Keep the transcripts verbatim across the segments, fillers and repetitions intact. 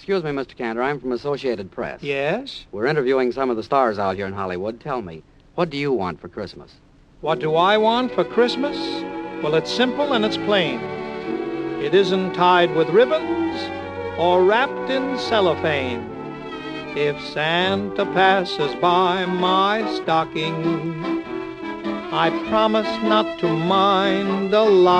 excuse me, Mister Cantor. I'm from Associated Press. Yes? We're interviewing some of the stars out here in Hollywood. Tell me, what do you want for Christmas? What do I want for Christmas? Well, it's simple and it's plain. It isn't tied with ribbons or wrapped in cellophane. If Santa passes by my stocking, I promise not to mind a lot.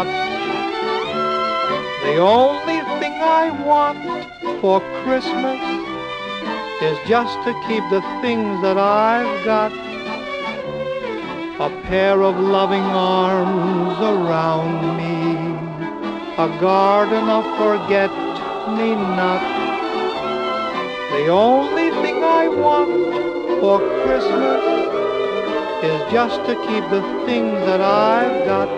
The only thing I want for Christmas is just to keep the things that I've got. A pair of loving arms around me, a garden of forget-me-not. The only thing I want for Christmas is just to keep the things that I've got.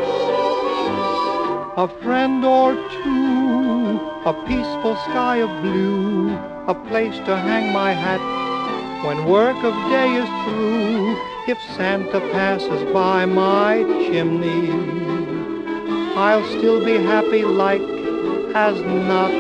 A friend or two, a peaceful sky of blue, a place to hang my hat when work of day is through. If Santa passes by my chimney, I'll still be happy like as not.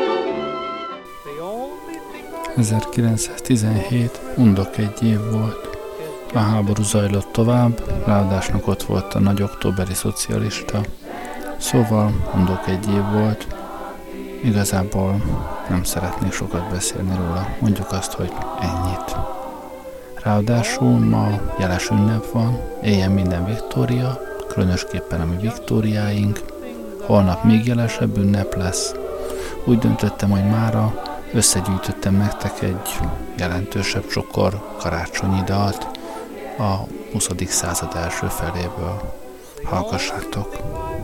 ezerkilencszáztizenhét undok egy év volt. A háború zajlott tovább, ráadásnak ott volt a nagy októberi szocialista. Szóval undok egy év volt. Igazából nem szeretnék sokat beszélni róla. Mondjuk azt, hogy ennyit. Ráadásul ma jeles ünnep van, éjjel minden Viktória, különösképpen a mi Viktóriáink. Holnap még jelesebb ünnep lesz. Úgy döntöttem, hogy mára összegyűjtöttem nektek egy jelentősebb csokor karácsonyi dalt a huszadik század első feléből. Hallgassátok!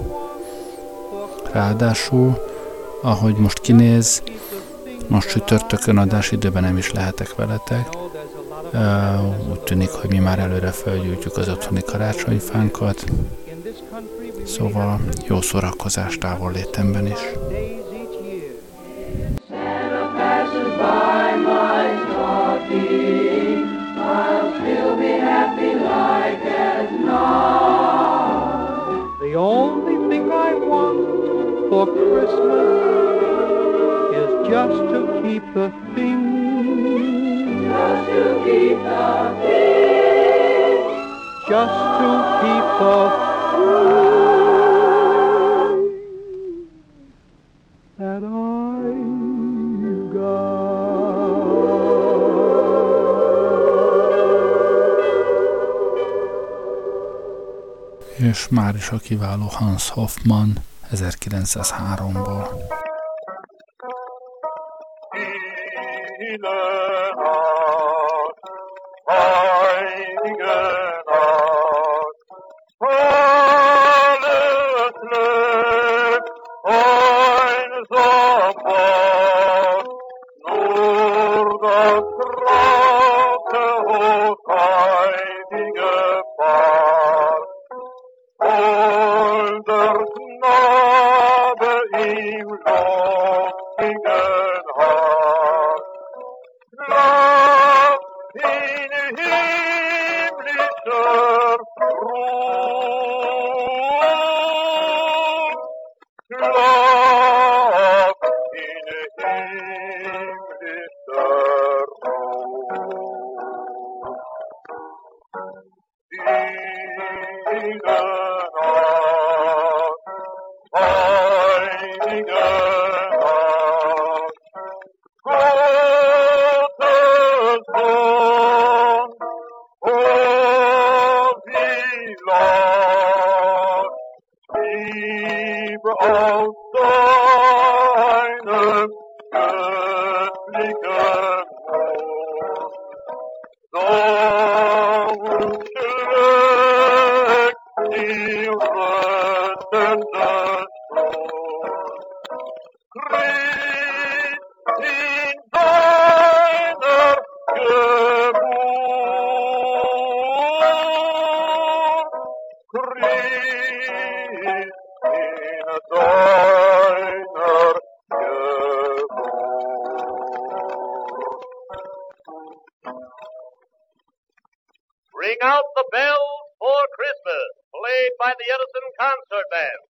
Ráadásul, ahogy most kinéz, most csütörtökön adásidőben nem is lehetek veletek. Uh, úgy tűnik, hogy mi már előre felgyújtjuk az otthoni karácsonyfánkat. Szóval jó szórakozást távol létemben is. The only thing I want for Christmas is just to keep the things, just to keep the things, just to keep the things that I've got. És már is a kiváló Hans Hoffmann ezerkilencszázháromból. Ring out the bells for Christmas, played by the Edison Concert Band.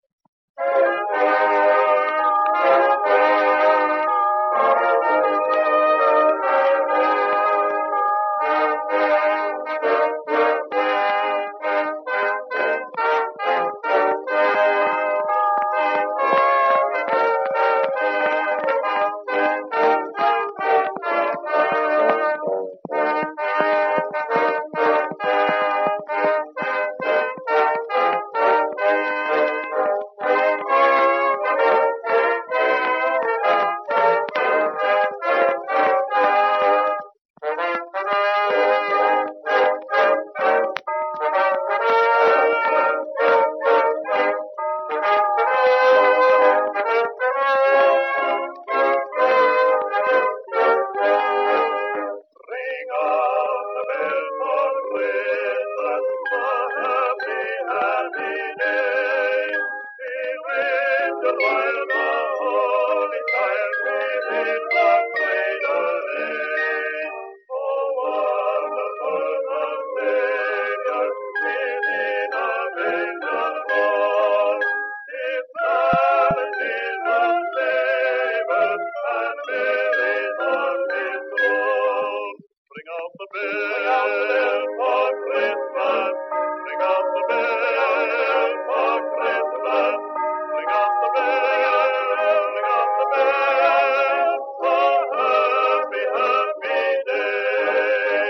and lilies on his throne. Bring out the bells for Christmas. Bring out the bells for Christmas. Bring out the bells, bring out the bells for happy, happy day.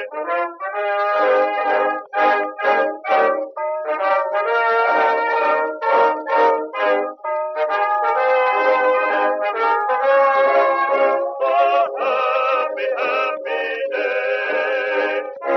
For happy, happy day.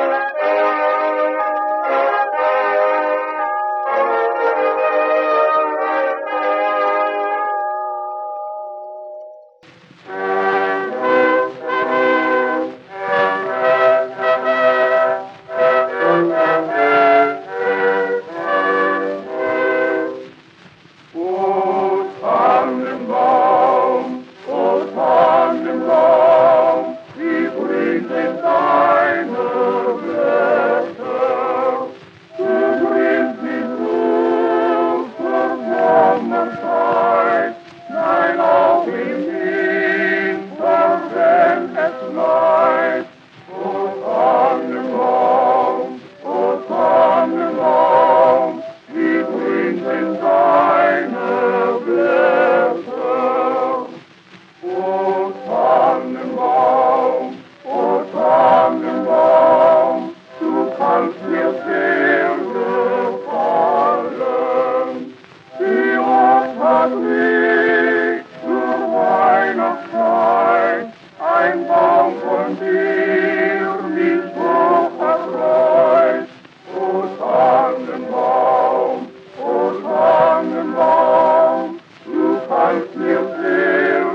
O Tannenbaum, O Tannenbaum, wie grün sind deine Blätter. Du grünst nicht nur zur Sommerzeit, nein, auch im Winter, wenn es schneit. O Tannenbaum, O Tannenbaum, wie grün sind deine Blätter. O Tannenbaum, O Tannenbaum, du kannst mir sehr gefallen. Wie oft hat mich zur Weihnachtszeit ein Baum von dir mich so erfreut. O Tannenbaum, O Tannenbaum, du kannst mir sehr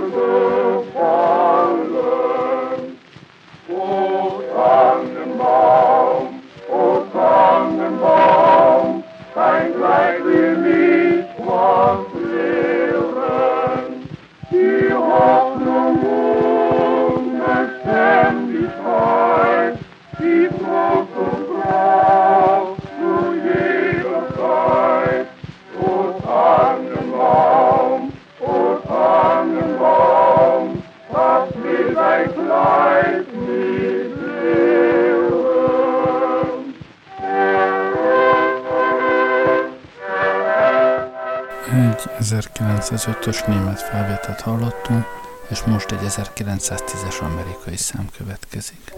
gefallen. O Tannenbaum, O Tannenbaum, dein Kleid will mich was lehren. Die Hoffnung und Beständigkeit, die Trost und Kraft zu jeder Zeit. O Tannenbaum, O Tannenbaum, das will dein Kleid mich lehren. Egy ezerkilencszázötös német felvételt hallottunk, és most egy ezerkilencszáztízes amerikai szám következik.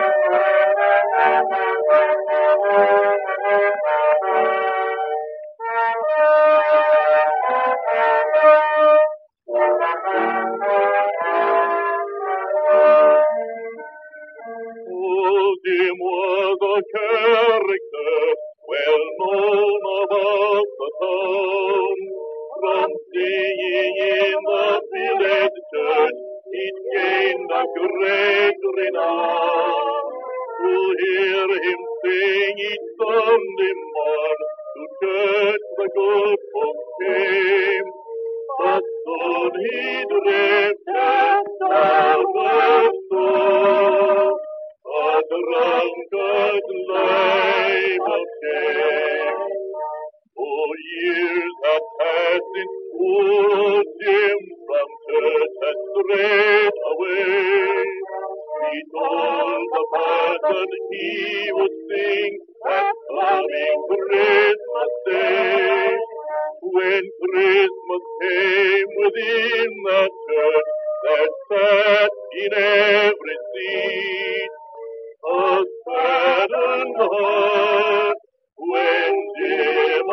Oh, dis-moi the character well known about the town. From singing in the village church, it gained a great renown. To hear him sing each Sunday morn, to church the good folks came. But soon he drifted downward soul, a drunkard life of shame. Oh, years have passed since poor Jim from church had strayed away. He told the parson he would sing that coming Christmas Day. When Christmas came within the church, there sat in every seat a saddened heart. When Jim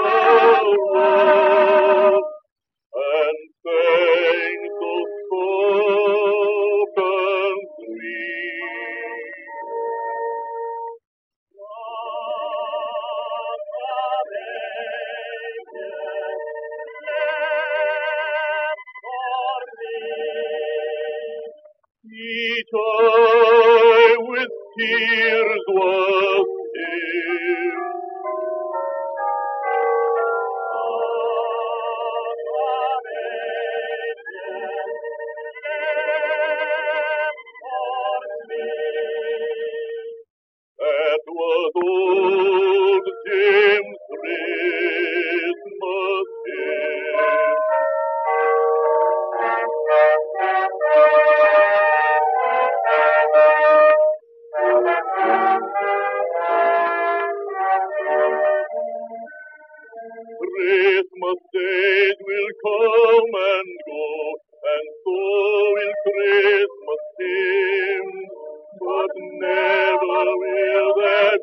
arose and sang so soft and sweet. What a angel left for me. Each eye with tears was dim. That was old Jim's Christmas hymn.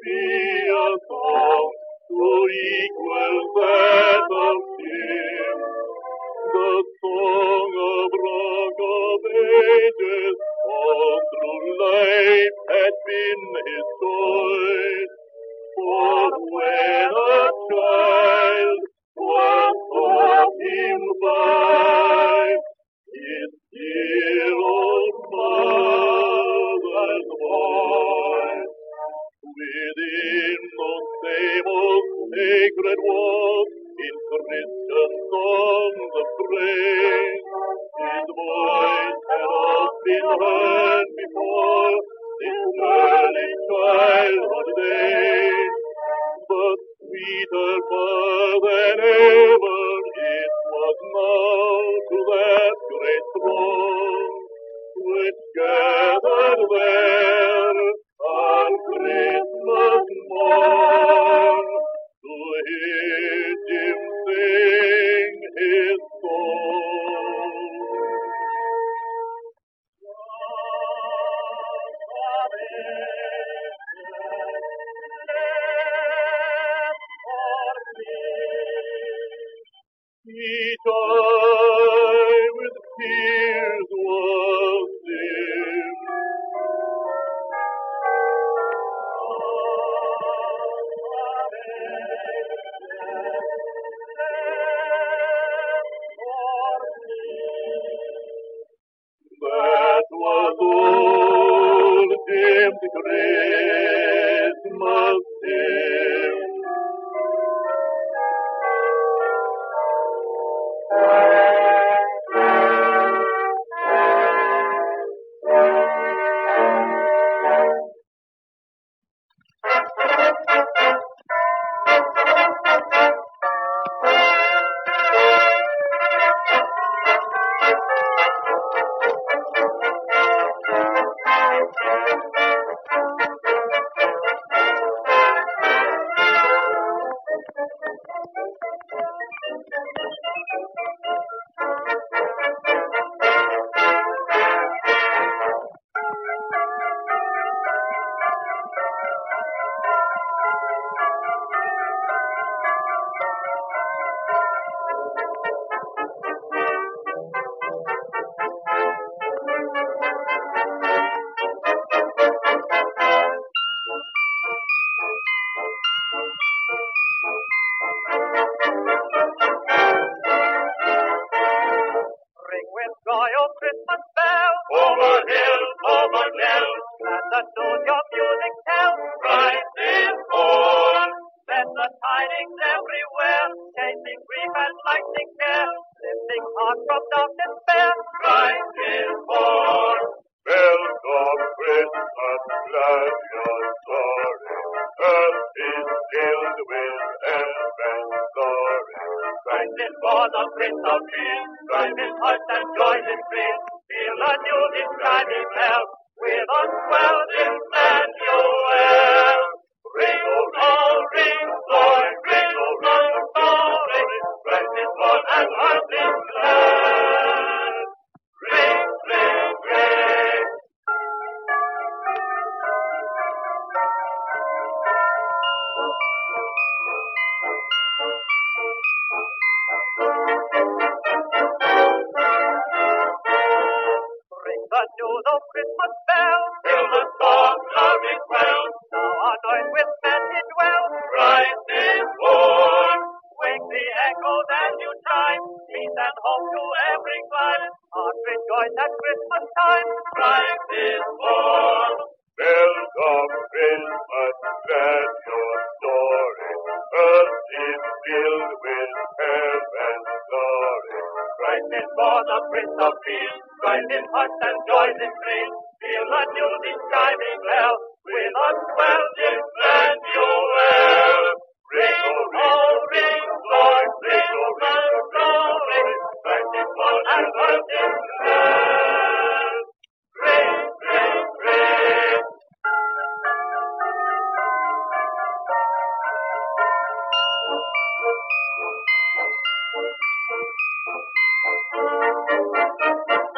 be a song to equal that of him. The song of rock of ages, all through life had been his choice. For when a child was taught him by his dear old mother's voice, within those same old sacred walls, in Christian songs of praise, his voice had oft been heard before this early childhood days. But sweeter far than ever it was now to that great throng which gathered there on Christmas morn to hear Jim sing his song. Each eye with tears was dim. That was old Jim's Christmas hymn.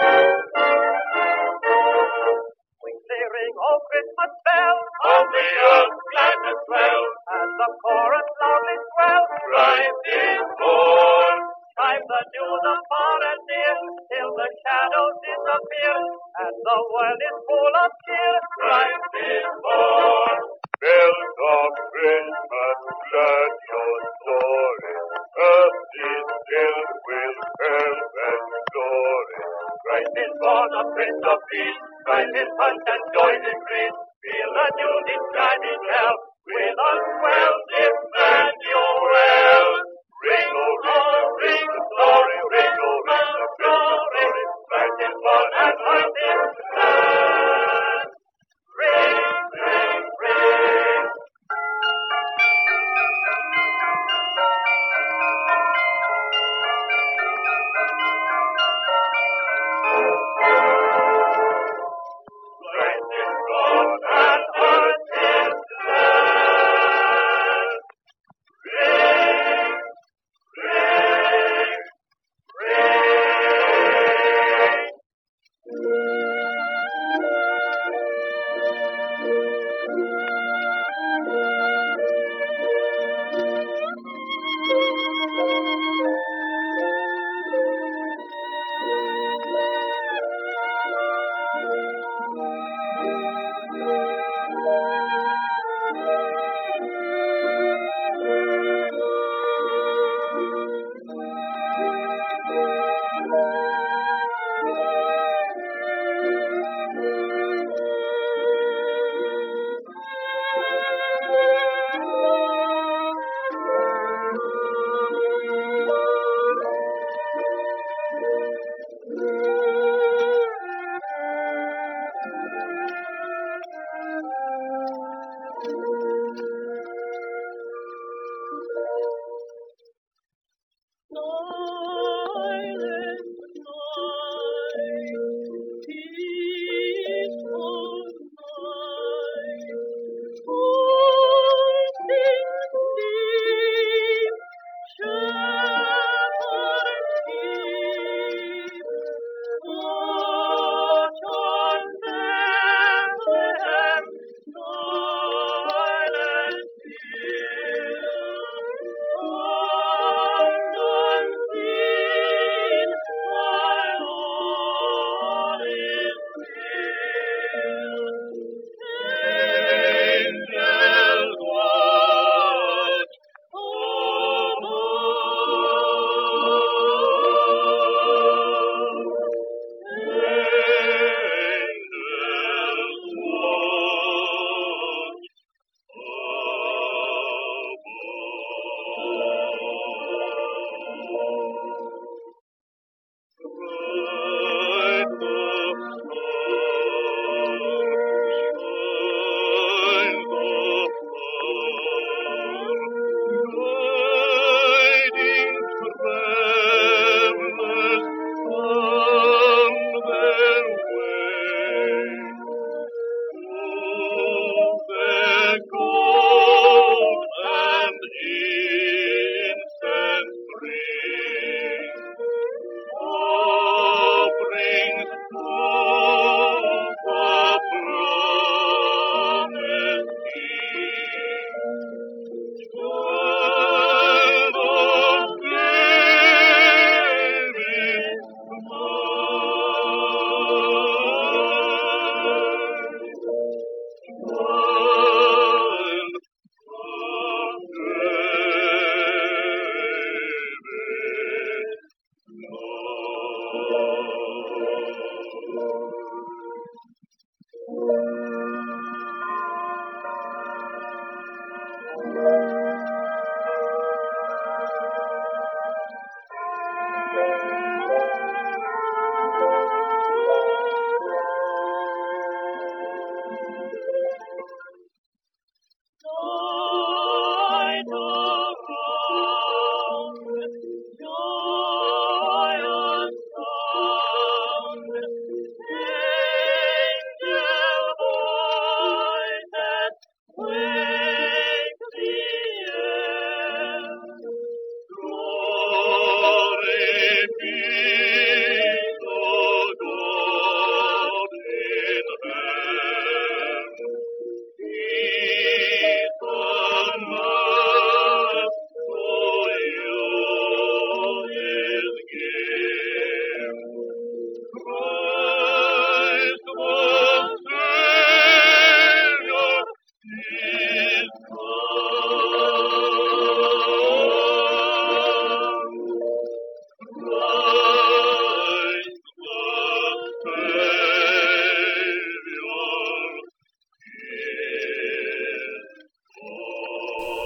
Christmas bell, on the the far and near, till the shadows disappear, and the world is full of cheer. Christ is born. Bells of Christmas, glad your story, earth is filled with health and glory. Christ is born, the Prince of Peace, Christ is punch and joy increase. Feel the news describing hell, with us wells Emmanuel. Ring, oh, ring, ring, glory, ring, oh, ring, the glory. Christ is born and earth is glad. Ring, ring, ring. Christ is born and earth is glad. Ring, ring, ring.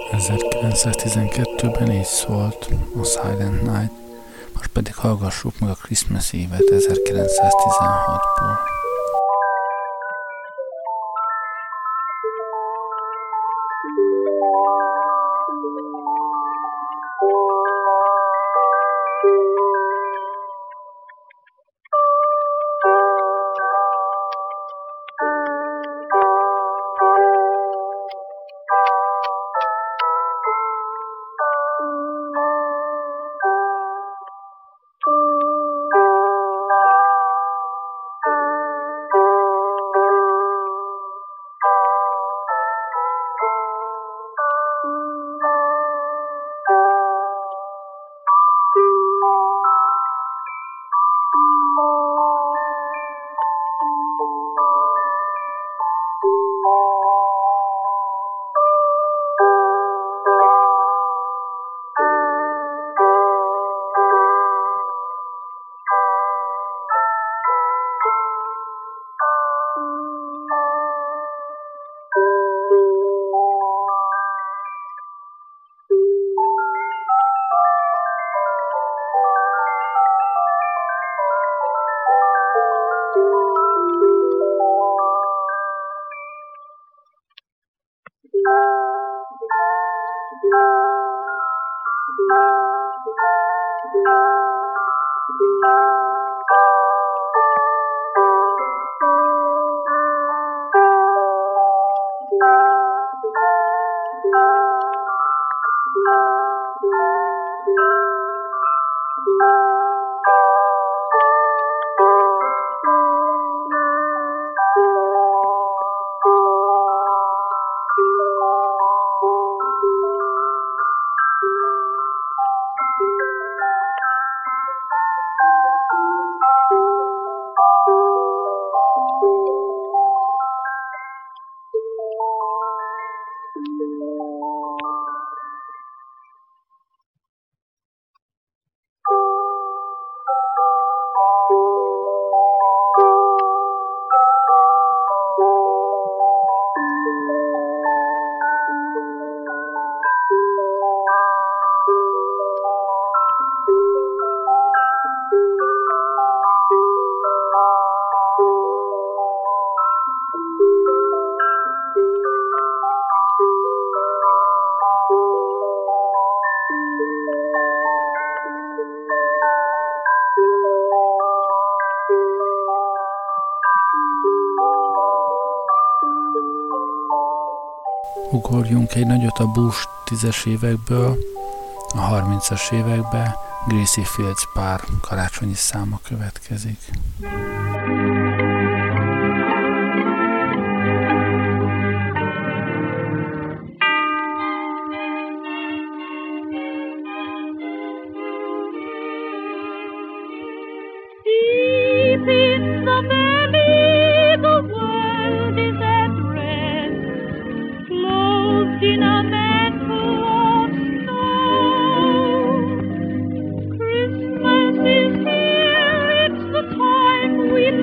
ezerkilencszáztizenkettőben így szólt a Silent Night, most pedig hallgassuk meg a Christmas Eve-et ezerkilencszáztizenhatból. Ugorjunk egy nagyot a Bush tízes évekből, a harmincas évekbe Gracie Fields pár karácsonyi száma következik. We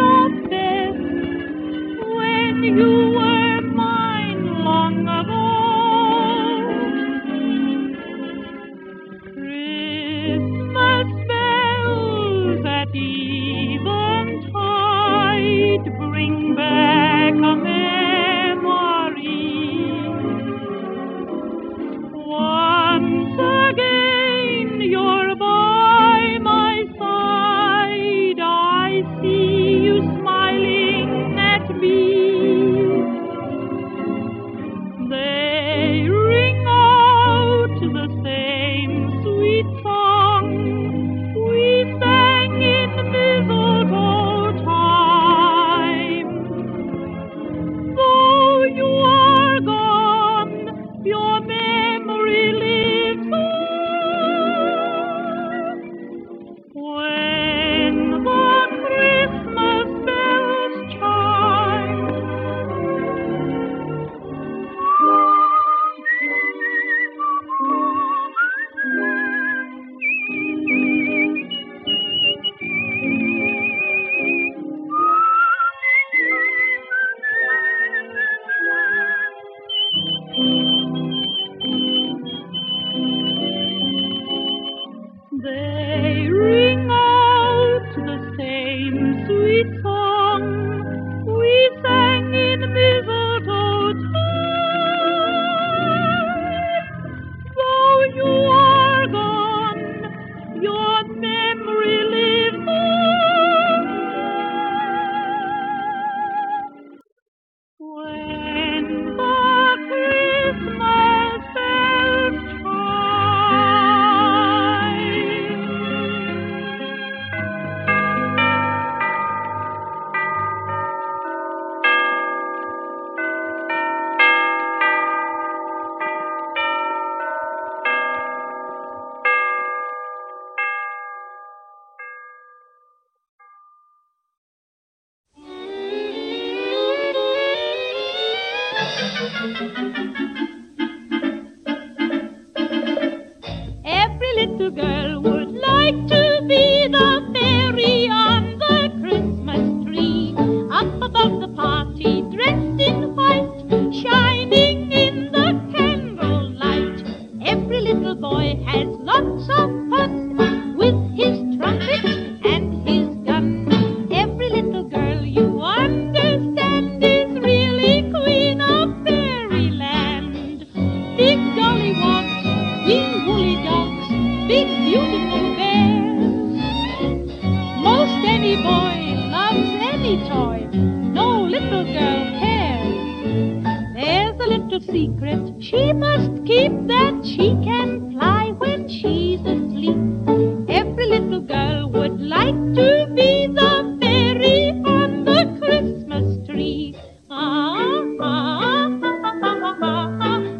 Every little girl would like to be the fairy on the Christmas tree, up above the party, dressed in white, shining in the candlelight. Every little boy has lots of fun with his trumpet and his gun. Every little girl, you understand, is really queen of fairyland. Big gollywogs, wee woolly dogs, big beautiful bears. Most any boy loves any toy, no little girl cares. There's a little secret she must keep, that she can fly when she's asleep. Every little girl would like to be the fairy on the Christmas tree. Ah, ah, ah, ah, ah, ah,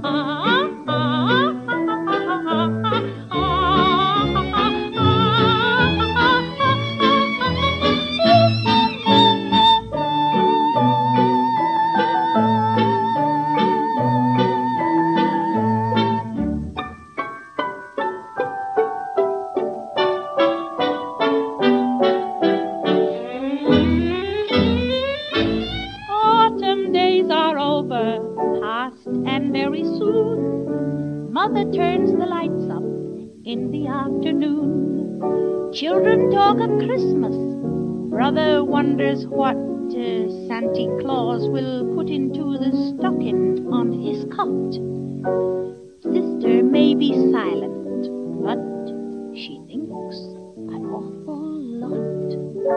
Autumn days are over, past and very soon. Mother turns the lights up in the afternoon. Children talk of Christmas. Brother wonders what uh, Santa Claus will put into the stocking on his cot. Sister may be silent, but she thinks an awful lot.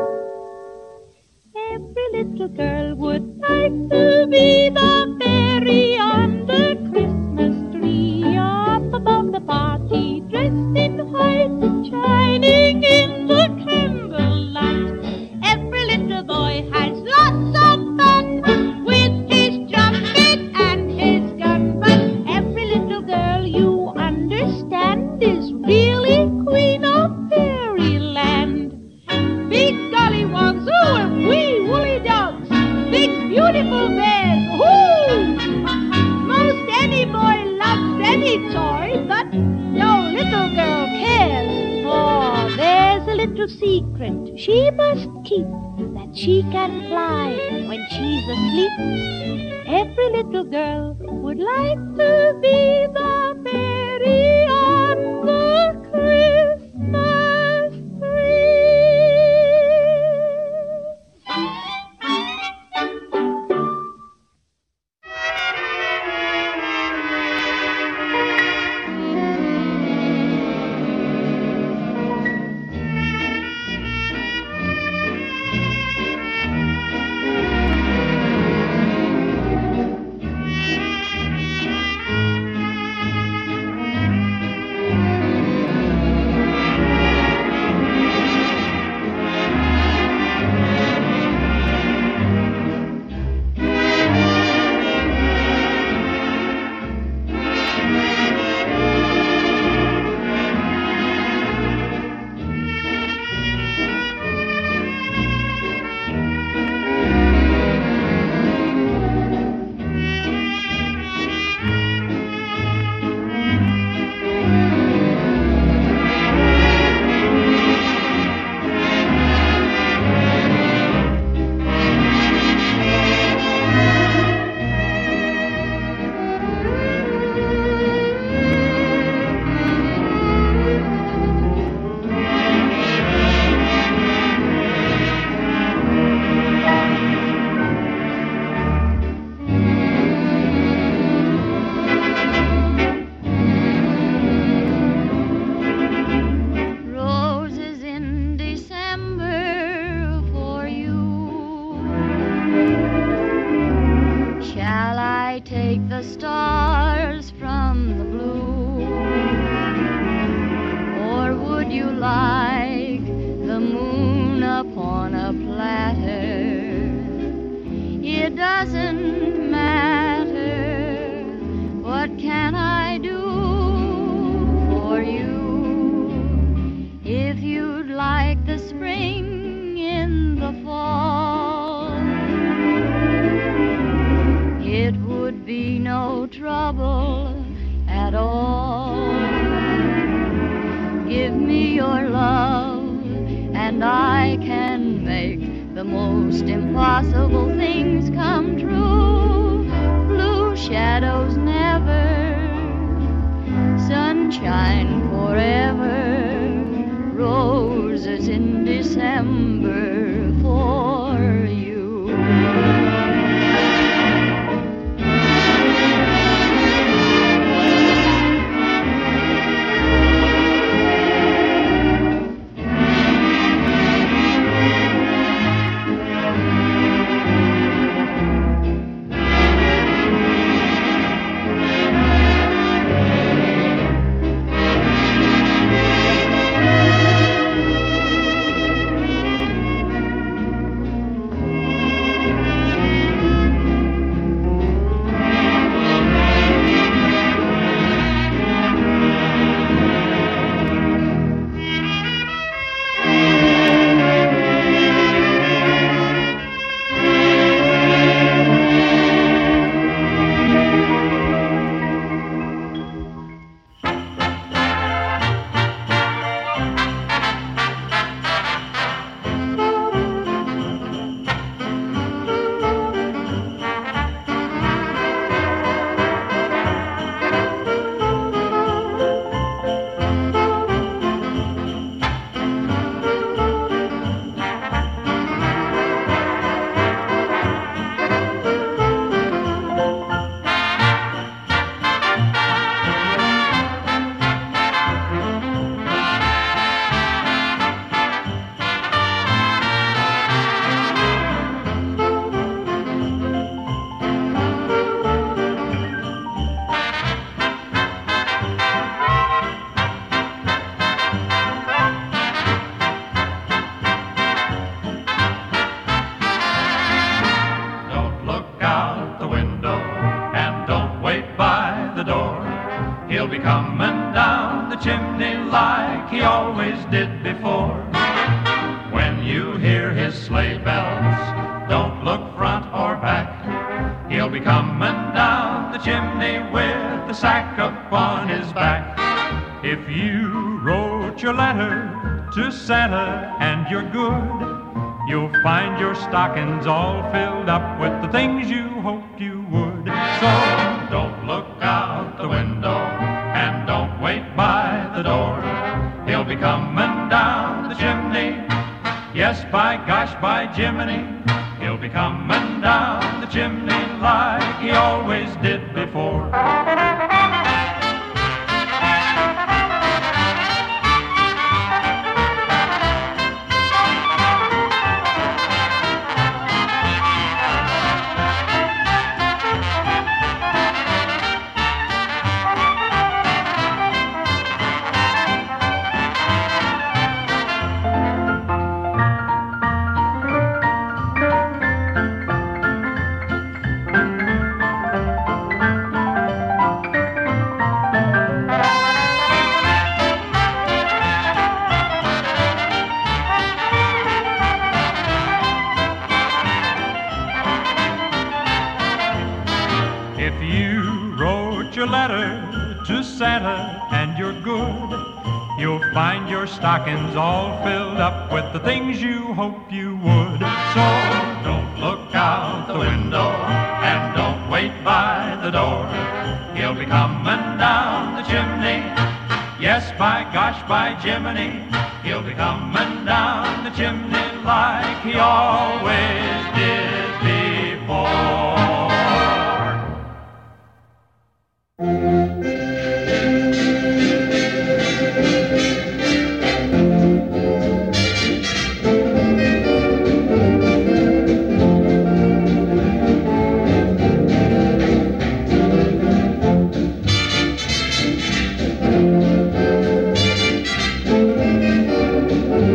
Every little girl would like to be the fairy on the Christmas tree, up above the party, dressed in white, shining in the candlelight. Every little boy has lots of fun with his trumpet and his gun, but every little girl, you understand, is really queen of fairyland. Big gollywogs, ooh, and wee woolly dogs, big beautiful bears, ooh! Most any boy loves any toy, but no little girl cares. For there's a little secret she must keep, that she can fly when she's asleep. Every little girl would like to be the fairy on the Christmas tree. doesn't matter. What can I do for you? If you'd like the spring in the fall, it would be trouble at all. Give me your love, and I can make the most impossible things come true. Blue shadows never, sunshine forever, roses in December for you. If you wrote your letter to Santa and you're good, you'll find your stockings all filled up with the things you hoped you would. So don't look out the window and don't wait by the door. He'll be coming down the chimney. Yes, by gosh, by Jiminy. He'll be coming down the chimney like he always did before. Santa and you're good, you'll find your stockings all filled up with the things you hoped you would. So don't look out the window and don't wait by the door. He'll be coming down the chimney. Yes, by gosh, by Jiminy. He'll be coming down the chimney like he always did before.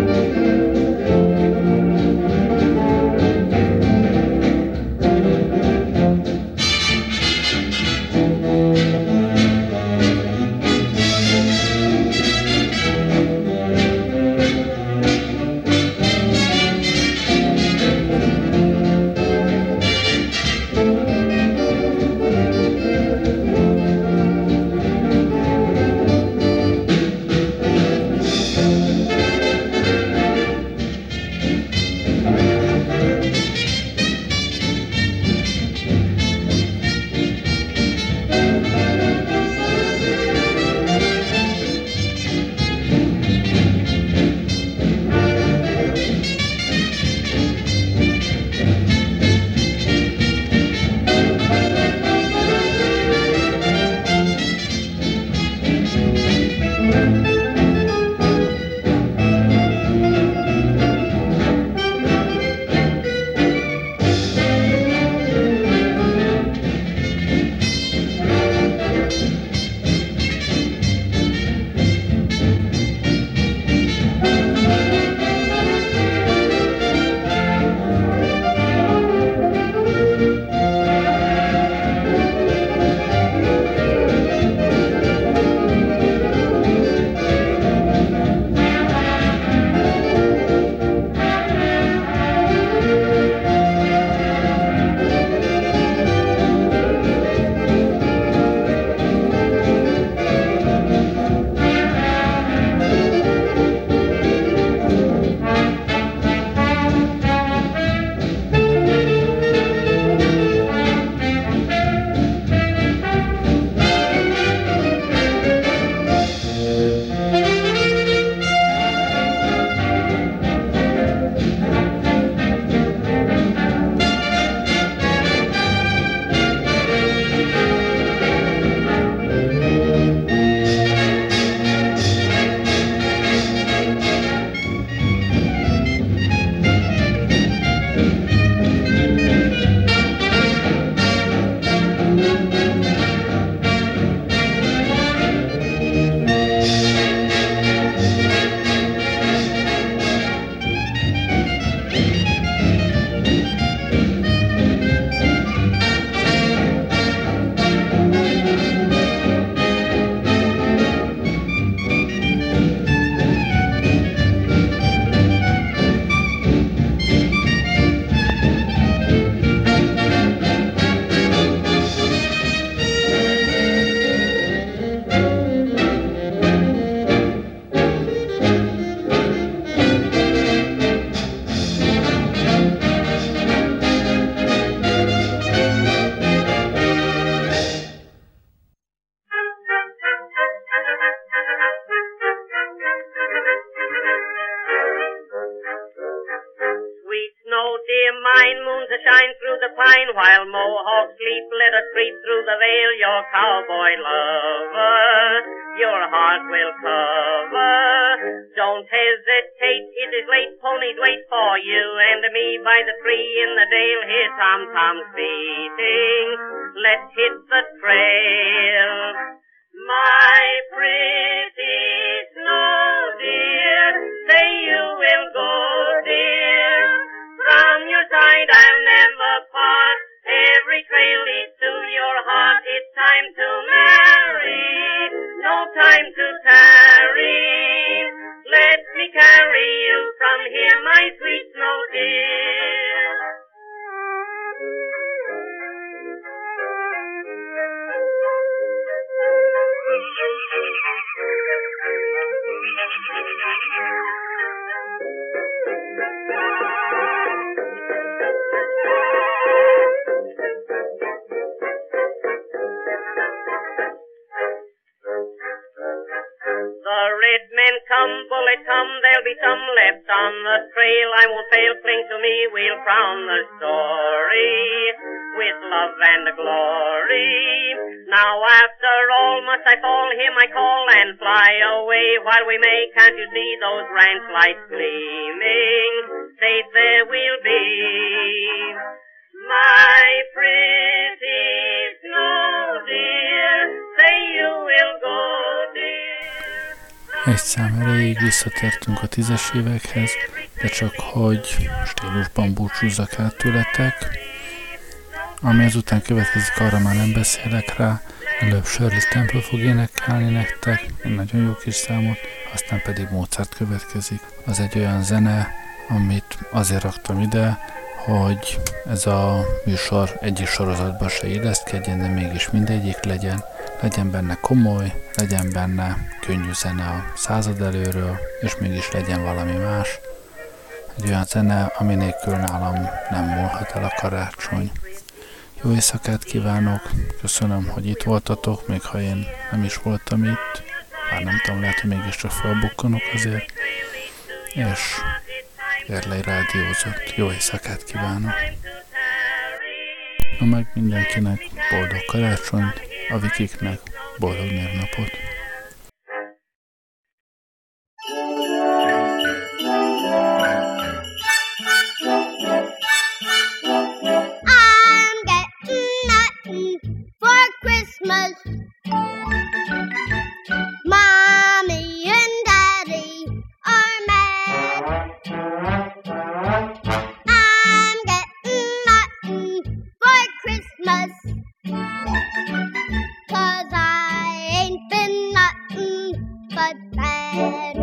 Thank you. mine while mohawks sleep. Let us creep through the veil, your cowboy lover, your heart will cover. Don't hesitate, it is late, ponies wait for you and me by the tree in the dale. Hear tom-toms beating, let's hit the trail. My pretty snow dear, say you will go, dear. From your side I'll never part. Every trail leads to your heart. It's time to marry, no time to tarry. Let me carry you from here, my sweet snow dear. Come, bullet, come, there'll be some left on the trail. I won't fail, cling to me, we'll crown the story with love and glory. Now after all must I fall, hear my call and fly away while we may. Can't you see those ranch lights gleaming? Safe there we'll be. My pretty snow dear, say you will go, dear. Egy szám erejéig visszatértünk a tízes évekhez, de csak hogy stílusban búcsúzzak el tőletek. Ami ezután következik, arra már nem beszélek rá. Előbb Shirley Temple fog énekelni nektek, egy nagyon jó kis számot, aztán pedig Mozart következik. Az egy olyan zene, amit azért raktam ide, hogy ez a műsor egyik sorozatban se illeszkedjen, de mégis mindegyik legyen. Legyen benne komoly, legyen benne könnyű zene a század előről, és mégis legyen valami más. Egy olyan zene, ami nélkül nálam nem múlhat el a karácsony. Jó éjszakát kívánok, köszönöm, hogy itt voltatok, még ha én nem is voltam itt, bár nem tudom, lehet, hogy mégiscsak felbukkanok azért, és Gerlei rádiózott. Jó éjszakát kívánok! Na meg mindenkinek boldog karácsonyt, a Vikiknek boldog névnapot! I'm getting nothing for Christmas. Mommy and Daddy are mad. I'm getting nothing for Christmas, 'cause I ain't been nothing but bad.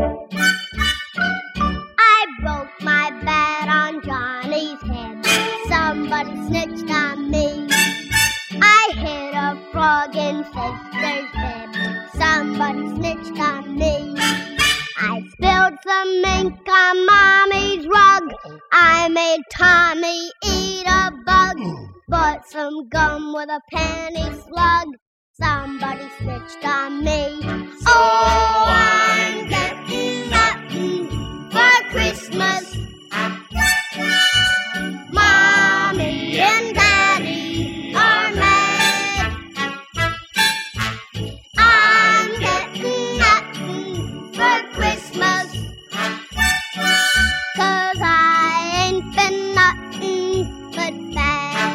I broke my bat on Johnny's head. Somebody snitched on me. I hit a frog in sister's bed. Somebody snitched on me. I spilled some ink on Mommy's rug. I made Tommy eat a bug. Bought some gum with a penny slug. Somebody snitched on me. Oh, I'm getting nothing for Christmas. Mommy and Daddy are mad. I'm getting nothing for Christmas, 'cause I ain't been nothing but bad.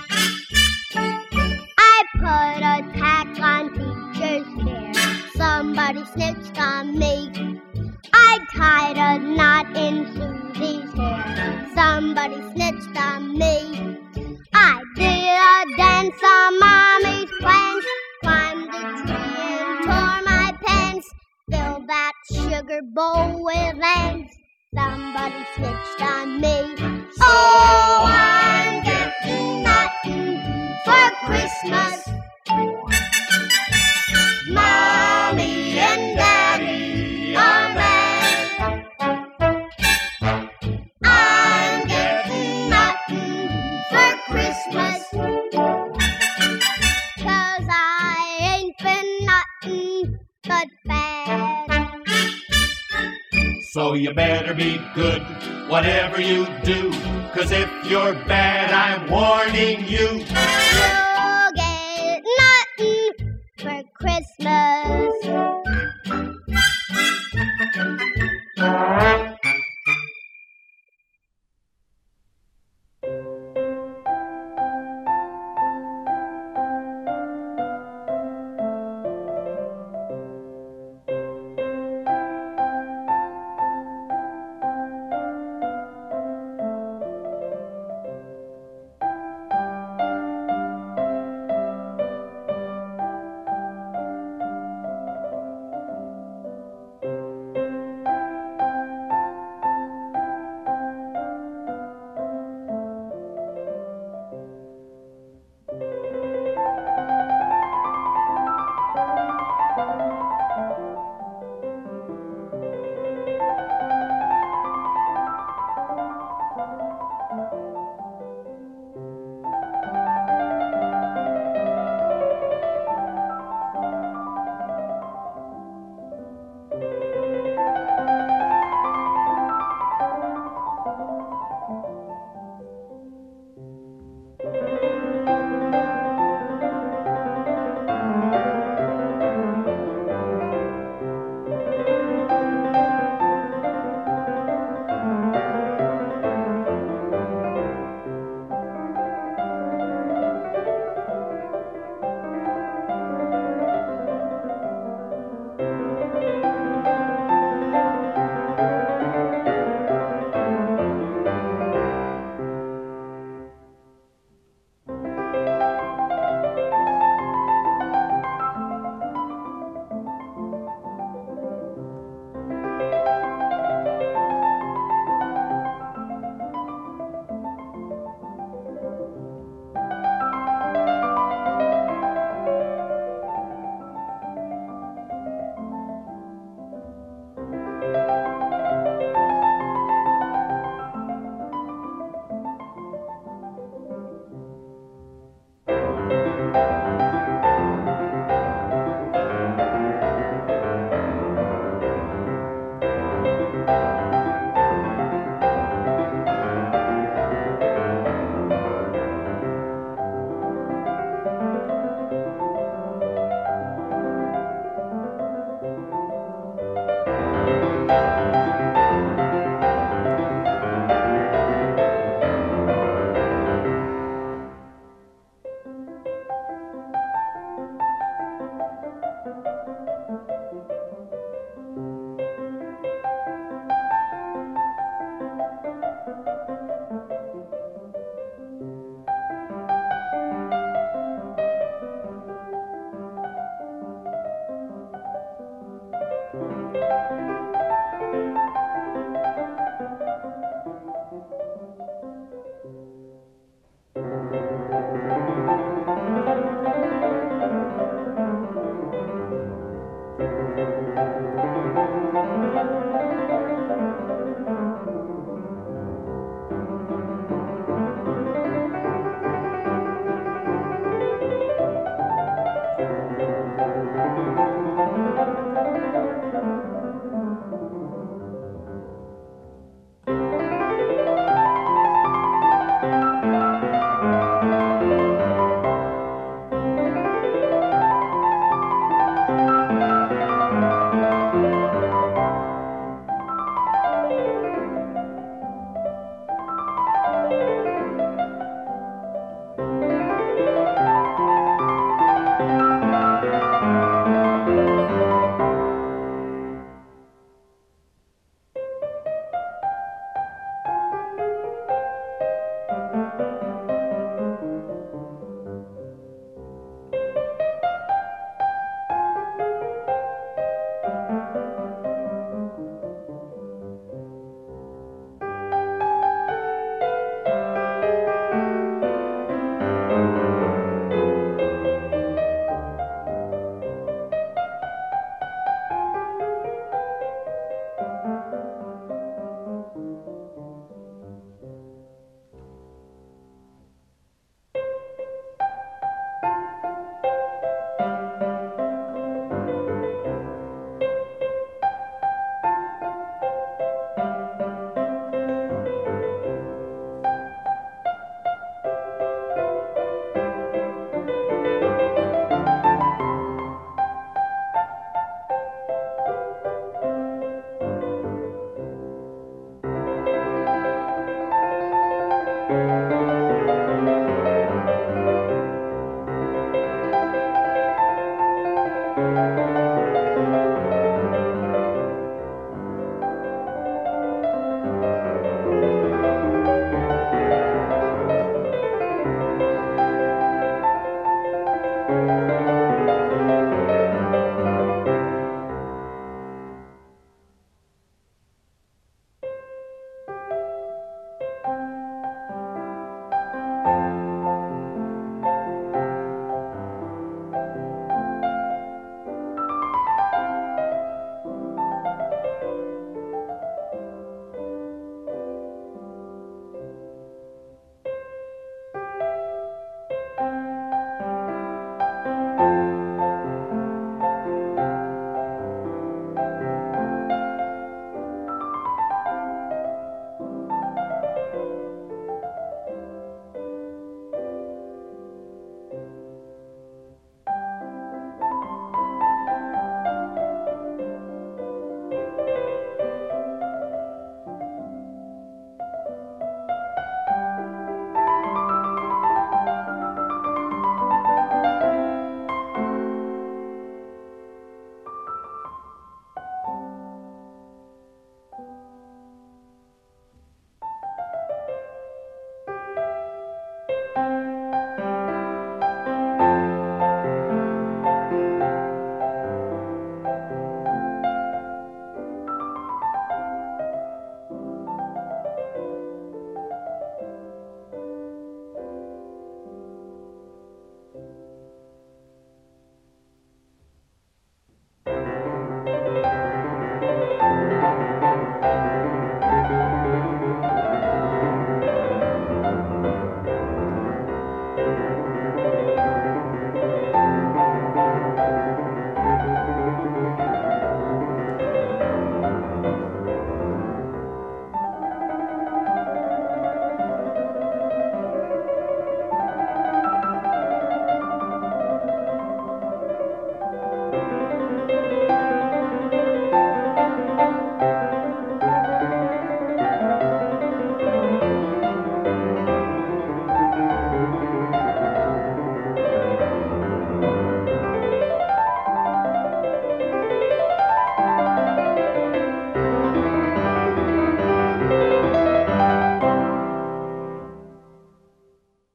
I put a tack on teacher's hair. Somebody snitched on me. I tied a knot in Susie's hair. Somebody snitched on me. I did a dance on Mommy's plans. Climbed a tree and tore my pants. Filled that sugar bowl with ants. Somebody snitched on me. Oh, I'm getting nothing for Christmas. Mommy and Daddy are mad. I'm getting nothing for Christmas, 'cause I ain't been nothing but bad. So you better be good, whatever you do, 'cause if you're bad, I'm warning you. You'll get nothing for Christmas. Thank you.